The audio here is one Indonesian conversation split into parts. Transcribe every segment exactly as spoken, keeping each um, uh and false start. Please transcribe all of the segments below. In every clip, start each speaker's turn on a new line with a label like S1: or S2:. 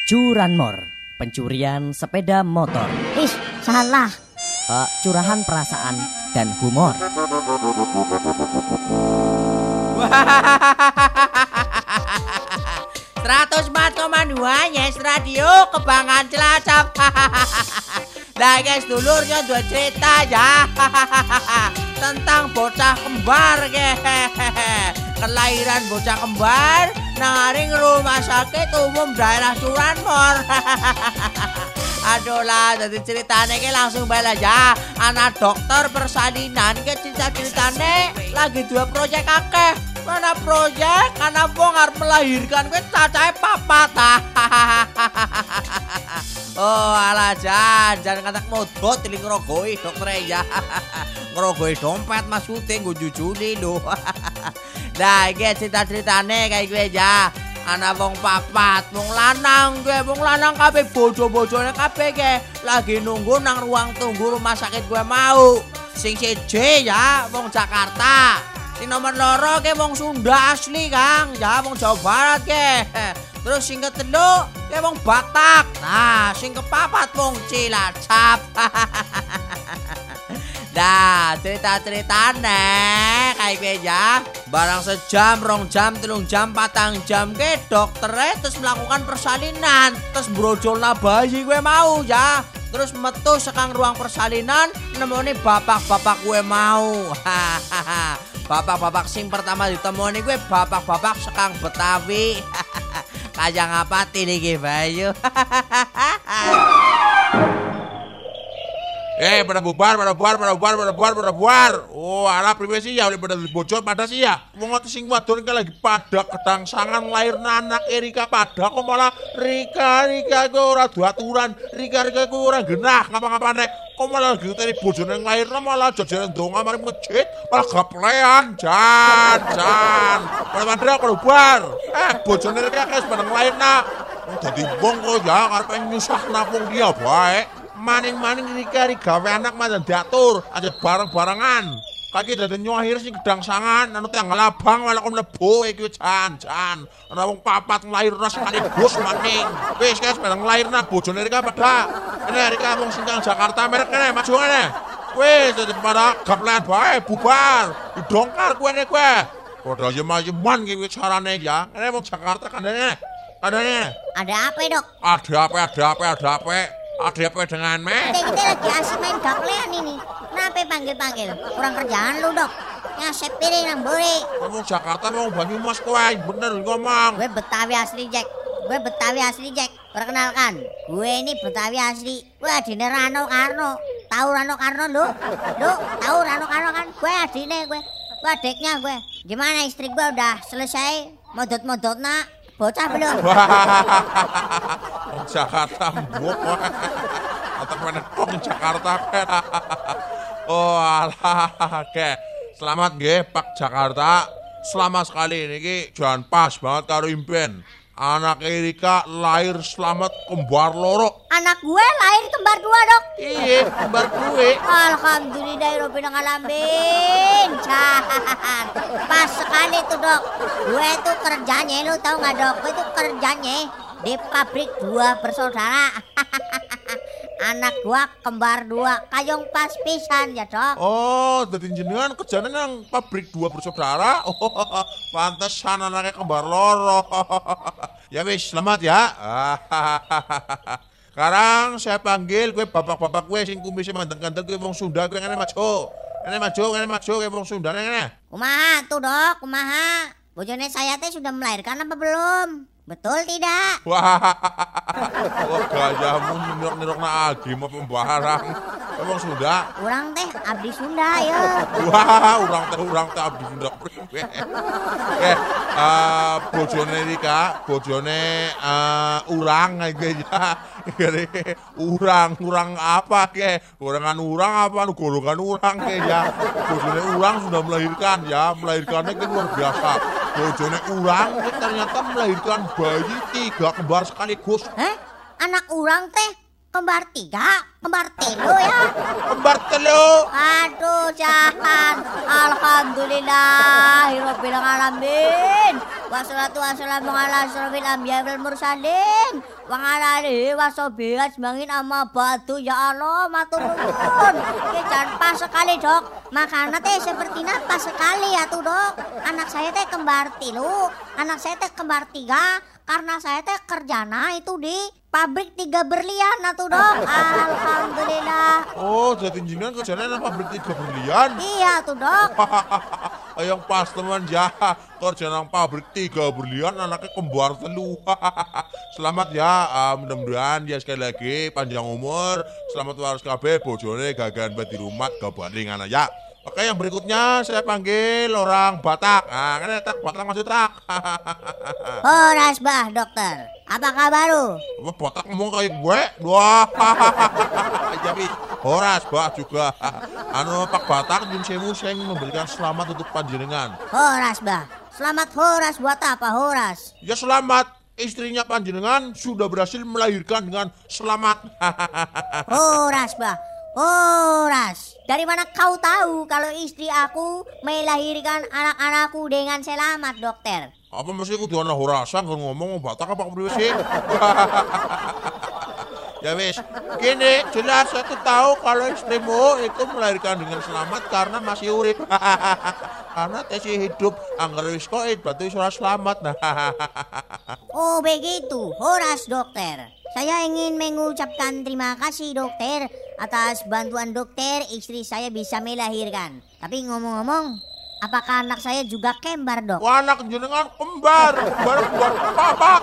S1: Curanmor, pencurian sepeda motor.
S2: Ih, salah.
S1: Uh, curahan perasaan dan humor.
S3: seratus empat koma dua Yes Radio Kebanggaan Cilacap. Nah guys, dulurnya dua cerita ya tentang bocah kembar ke kelahiran bocah kembar naring rumah sakit umum daerah Curanmor. Aduh lah, jadi ceritanya ke langsung balik aja. Anak dokter persalinan ke cerita-ceritanya lagi dua proyek akeh. Mana proyek, anak wong arep melahirkan ke cacahe papat. Oh alah jan, jangan katak modot tiling ngerogoi dokter ya. Ngerogoi dompet maksudnya gue jujuni lho. Nah iki cerita-ceritanya kayak gue ya. Anak wong papat, wong lanang gue, wong lanang kabeh bojo-bojone kabeh ke lagi nunggu nang ruang tunggu rumah sakit gue mau. Sing siji ya wong Jakarta. Sing nomor loro ke wong Sunda asli Kang, ya wong Jawa Barat ke. Terus sing ketelu ke wong Batak. Nah, sing kepapat wong Cilacap. Nah, cerita-ceritane kayak gue ya. Barang sejam, rong jam, telung jam, patang jam ke dokternya terus melakukan persalinan. Terus brojolna bayi gue mau ya. Terus metu sekang ruang persalinan nemoni bapak-bapak gue mau. Bapak-bapak sing pertama ditemoni gue bapak-bapak sekang Betawi. Kayak ngapati nih Bayu.
S4: Eh, pada bubar, pada bubar, pada bubar, pada bubar, pada bubar. Oh, ala priwe sih ya, pada bocor pada sih ya. Wong ngono sing wadon iki lagi pada kedangsangan lairna anak Erika pada kok malah Rika Rika ku ora aturan. Rika Rika ku ora genah ngapa-ngapane. Kok malah diteri bojone lairna malah jajaran donga mari masjid, malah gaplean jan jan. Pada pada kok bubar. Eh, bojone Rika wis bareng lairna. Dadi wong kok ya karepe nyusahna wong dia bae. Maning-maning Rika gawe anak malah diatur aja bareng-barengan. Kaki dadi nyohir sing gedang sangan anu tanggal abang malah kok mlebu iki jan-jan. Ana wong papat nglairna sekaligus maning. Wis guys bareng nglairna bojone Rika pada. Ini Rika wong sing Jakarta merek kene maju ngene. Wis dadi pada gaplean bae bubar. Didongkar kowe ne kowe. Padha yem-yeman iki carane ya. Ini wong Jakarta kandane. Kandane.
S2: Ada apa, Dok?
S4: Ada apa, ada apa, ada apa? Ada apa dengan me?
S2: Kita, kita lagi asik main gaplean ini. Kenapa panggil-panggil? Kurang kerjaan lu, Dok. Ngasep piring nang buri.
S4: Kamu Jakarta mau Banyumas kowe, bener ngomong.
S2: Gue Betawi asli, Jack. Gue Betawi asli, Jack. Perkenalkan, gue ini Betawi asli. Gue adine Rano Karno. Tahu Rano Karno lu? Lu tahu Rano Karno kan? Gue adine gue. Gue adiknya gue. Gimana istri gue udah selesai modot-modotna? Bocah belum?
S4: Jakarta mbok. Atau mana kok Jakarta kan? Oh alah, oke. Selamat nggih Pak Jakarta. Selamat sekali niki jan pas banget karo impen. Anak Erika lahir selamat kembar loro.
S2: Anak gue lahir kembar dua, Dok.
S4: Iya, kembar gue.
S2: Alhamdulillah Robin ngalamin. Can. Pas sekali tuh, Dok. Gue tuh kerjanya, lu tahu nggak, Dok? Gue tuh kerjanya di pabrik dua bersaudara. Anak gua kembar dua, kayong pas pisan ya, Dok.
S4: Oh, dadi jenengan kerjane nang pabrik dua bersaudara. Oh, pantesan anaknya kembar loro. Ya wis, selamat ya. Sekarang saya panggil gue bapak-bapak gue sing kumisnya mandeng-mandeng gue wong Sunda gue ngene maju. Ngene maju, ngene maju gue wong Sunda ngene.
S2: Kumaha tuh, Dok? Kumaha? Bojone saya teh sudah melahirkan apa belum? Betul tidak?
S4: Wah, wah gayamu nirok-nirok na agi mau pembarang. Emang Sunda?
S2: Urang teh abdi Sunda ya.
S4: Wah, urang teh urang teh abdi Sunda priwe. Eh, uh, bojone Rika, bojone uh, urang iki ya. Urang, urang apa ke? Urangan urang apa? Golongan urang ke ya. Bojone urang sudah melahirkan ya, melahirkannya kan luar biasa. Bojone urang ternyata melahirkan bayi tiga kembar sekaligus.
S2: Hah? Anak urang teh kembar tiga, kembar telu ya.
S4: Kembar telu.
S2: Aduh, jahan. Alhamdulillahirabbil alamin. Wassalatu wassalamu ala asyrofil anbiya'i wal mursalin. Wa ala alihi washabihi ajmain amma ba'du. Ya Allah, matur nuwun. Ki jan pas sekali, Dok. Makanya teh seperti pas sekali ya tuh, Dok. Anak saya teh kembar tilu, anak saya teh kembar tiga. Karena saya teh kerjana itu di pabrik tiga berlian atuh, Dok. Alhamdulillah.
S4: Oh, jadi jenengan kerjanya nang pabrik tiga berlian.
S2: Iya tuh, Dok.
S4: Yang pas teman ya, kerja nang pabrik tiga berlian anaknya kembar telu. Selamat ya, uh, mudah-mudahan ya sekali lagi panjang umur, selamat waras kabeh, bojone gagan bet di rumah gabaning anak ya. Oke, yang berikutnya saya panggil orang Batak. Ah, kan tak Batak masih trak.
S2: Horas bah, dokter. Apa kabar lu?
S4: Wah, Batak ngomong kayak gue. Wah. Jadi Horas bah juga. Anu Pak Batak jeng sewu saya ingin memberikan selamat untuk panjenengan.
S2: Horas bah. Selamat Horas buat apa Horas?
S4: Ya selamat. Istrinya panjenengan sudah berhasil melahirkan dengan selamat.
S2: Horas bah. Horas, dari mana kau tahu kalau istri aku melahirkan anak-anakku dengan selamat, dokter?
S4: Apa mesti kudu ana Horasan kan ngomong Batak apa priwe sih? Ya wis, gini jelas aku tahu kalau istrimu itu melahirkan dengan selamat karena masih urip. Karena tesi hidup anggar wis koit berarti ora selamat.
S2: Oh begitu, Horas dokter. Saya ingin mengucapkan terima kasih dokter atas bantuan dokter istri saya bisa melahirkan. Tapi ngomong-ngomong, apakah anak saya juga kembar, Dok?
S4: Wah, anak jenengan kembar, kembar kembar papak.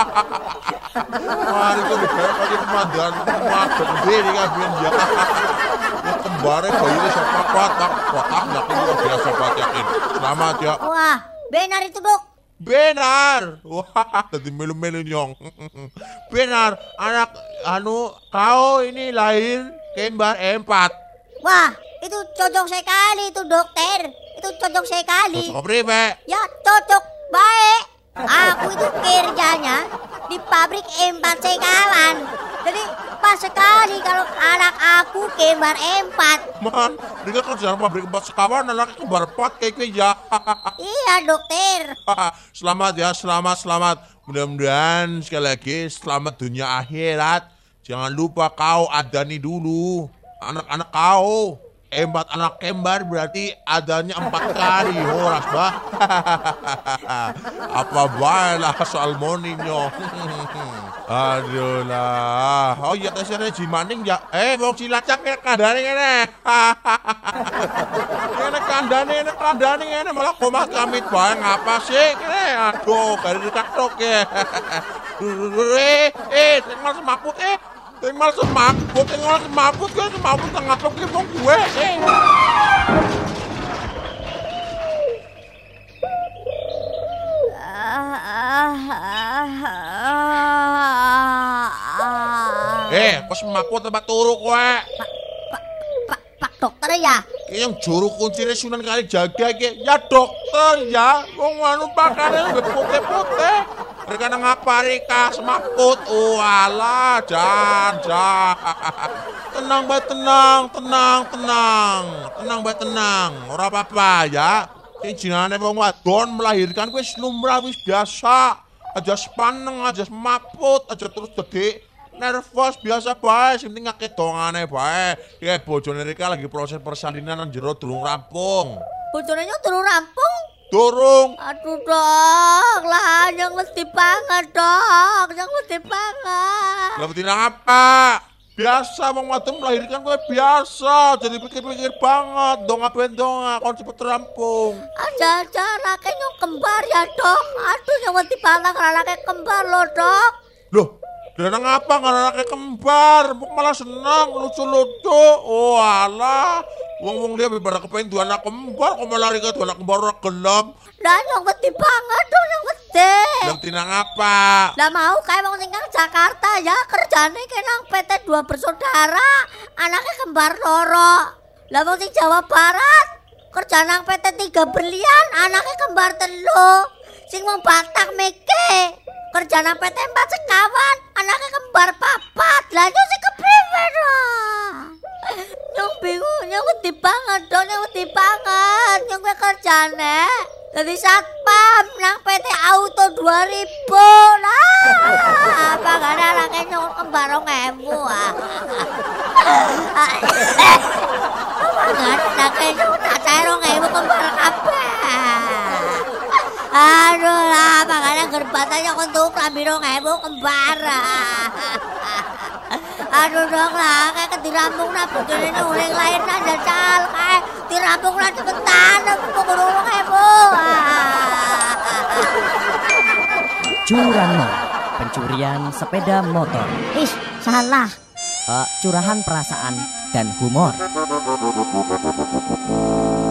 S4: Wah, itu dibayar lagi pemandangan pemadam gede kabeh ya. Ya kembarnya bayinya siapa papak, papak luar biasa banget yakin. Selamat ya.
S2: Wah, benar itu, Dok.
S4: Benar. Wah, tadi melu-melu nyong. Benar, anak anu kau ini lahir kembar empat.
S2: Wah, itu cocok sekali itu dokter. Itu cocok sekali.
S4: Cocok priwe?
S2: Ya, cocok baik. Aku itu kerjanya di pabrik empat sekawan. Jadi pas sekali kalau anak aku kembar empat.
S4: Man, dia kerja pabrik empat sekawan anaknya kembar empat kayak gue ya.
S2: Iya dokter.
S4: Selamat ya, selamat, selamat. Mudah-mudahan sekali lagi selamat dunia akhirat. Jangan lupa kau adani dulu anak-anak kau. Empat anak kembar berarti adanya empat kali Horas bah. Apa baiklah soal moninyo. Aduh lah. Oh iya tesnya jimaning ya. Eh wong Cilacap kene kandhane kene. Kene kandhane kene kandhane kene malah komat kamit bae ngapa sih kene. Aduh kari dikatok ya. Eh eh mas maput eh. Tinggal semaput, tinggal semaput, kan semaput tengah tok ki wong gue. Eh. Eh, kok semaput tempat turu kowe?
S2: Pak, Pak, Pak dokter ya?
S4: Ki yang juru kuncine Sunan Kalijaga iki. Ya dokter ya, wong anu pakane putih-putih. Mereka ngapa Rika semaput, oh alah, jan, jan. Tenang bae, tenang, tenang, tenang, tenang bae, tenang. Ora apa-apa ya. Jinane wong wadon melahirkan wis lumrah wis biasa. Aja sepaneng, aja semaput, aja terus gede. Nervous biasa bae, sing penting akeh dongane bae. Ya bojone Rika lagi proses persalinan nang jero durung rampung.
S2: Bojone durung rampung?
S4: Durung.
S2: Aduh dok, lah yang mesti banget dok, yang mesti banget.
S4: Lah betina apa? Biasa wong wadon melahirkan kowe biasa, jadi pikir-pikir banget, donga bendonga kon cepet rampung.
S2: Aja-aja anaknya nyong kembar ya dok. Aduh yang mesti banget anaknya kembar loh dok.
S4: Loh, dia ngapa anaknya kembar? Malah senang, lucu-lucu. Oh alah. Wong-wong dia pada kepengen dua anak kembar, kok malah Rika dua anak kembar ora gelem.
S2: Lah yang mesti banget dong, yang mesti.
S4: Yang tinang apa?
S2: Lah mau kayak wong tinggal Jakarta ya, kerjane kenang P T dua bersaudara, anaknya kembar loro. Lah wong sing Jawa Barat, kerja nang P T tiga berlian, anaknya kembar telu. Sing wong Batak meke, kerja nang P T empat sekawan, anaknya kembar papat. Lah yo sing kepriye? wedi banget dong, yang wedi banget. Yang gue kerjane jadi satpam nang P T Auto dua ribu. Nah, apa gak ada anaknya nyokot kembar rong ewu. Apa gak ada anaknya nyokot acai rong ewu kembar kabeh. Aduh lah, apa gak ada gerbatannya untuk klambi rong ewu kembar. Aduh dong lah, kayak ketirampung lah begini nih uling lain aja cal kayak tirampung lah cepetan aku pengurung heboh.
S1: Curanmor, pencurian sepeda motor.
S2: Ih, salah.
S1: Eh, curahan perasaan dan humor.